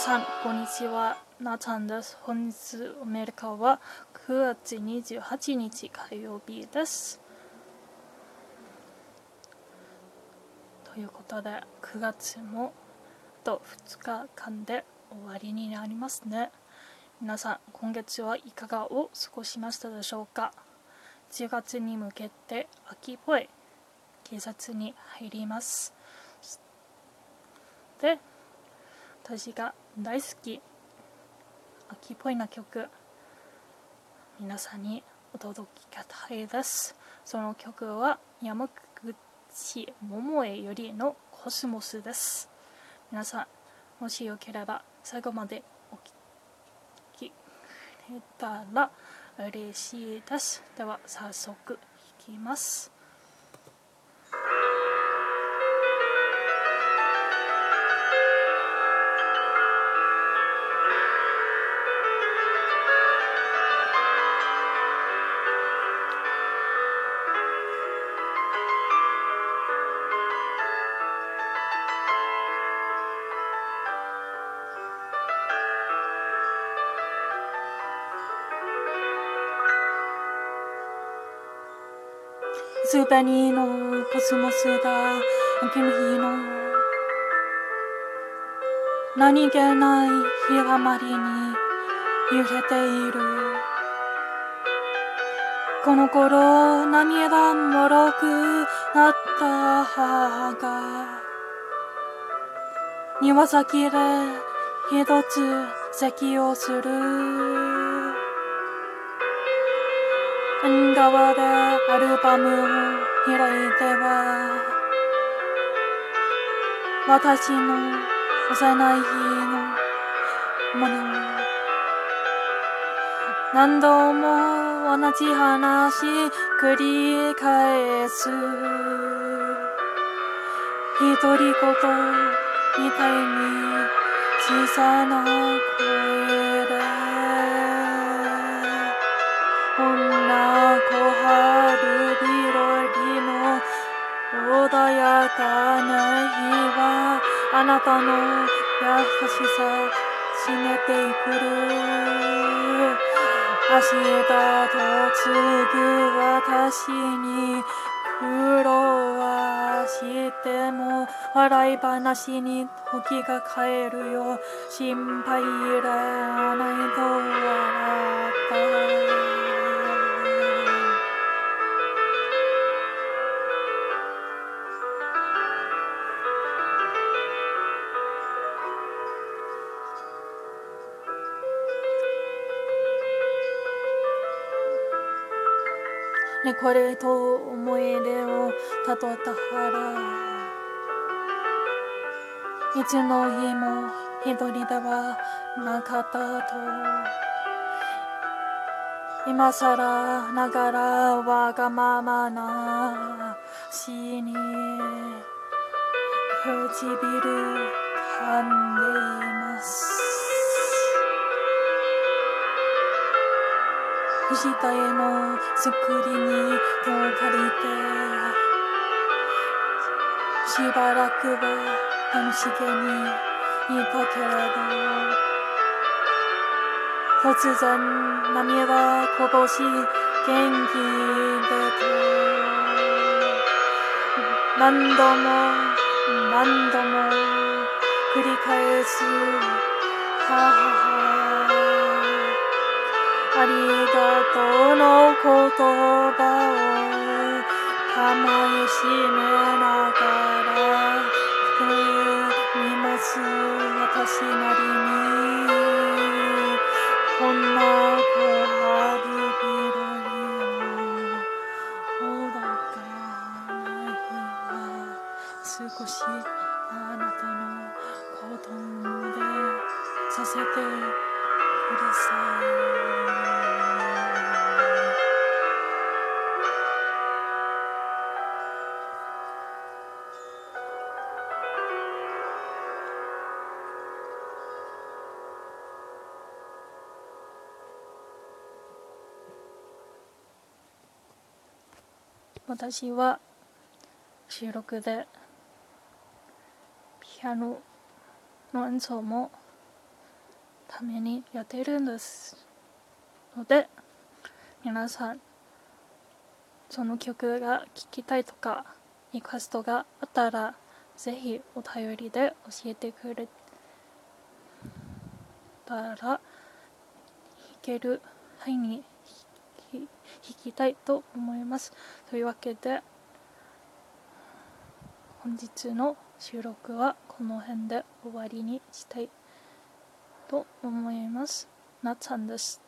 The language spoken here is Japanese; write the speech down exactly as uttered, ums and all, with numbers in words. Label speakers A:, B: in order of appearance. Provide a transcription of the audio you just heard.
A: さんこんにちは、なちゃんです。本日アメリカはくがつにじゅうはちにち火曜日です。ということでくがつもあとふつかかんで終わりになりますね。皆さん今月はいかがお過ごしましたでしょうか。じゅうがつに向けて秋っぽい季節に入ります。で、私が大好き秋っぽいな曲、皆さんにお届けたいです。その曲は山口百恵よりのコスモスです。皆さんもしよければ最後までお聴きくれたら嬉しいです。では早速弾きます。すべりのコスモスが秋の日の何気ない日だまりに揺れている。この頃涙もろくなった母が庭先で一つ咳をする。縁側でアルバムを開いては私の幼い日のもの何度も同じ話繰り返す。独り言みたいに小さな声でこんな小春日和の穏やかな日はあなたの優しさ締めてくる。明日と継ぐ私に苦労はしても笑い話に時が帰るよ。心配いらないと笑った。ね、これと思い出をたどったらいつの日も一人ではなかったと。今さらながらわがままなしに唇噛んでいます。藤田への作りに手を借りてしばらくは楽しげにいたけれど突然涙こぼし元気でと何度も何度も繰り返す母。ありがとうの言葉を構えしめながら見ます私なりに。こんな小春日和の穏かな日は少しあなたのこと思い出させてください。私は収録でピアノの演奏もためにやっているんですので、皆さんその曲が聴きたいとかリクエストがあったらぜひお便りで教えてくれたら弾ける範囲に弾きたいと思います。というわけで本日の収録はこの辺で終わりにしたいと思います。なっさんです。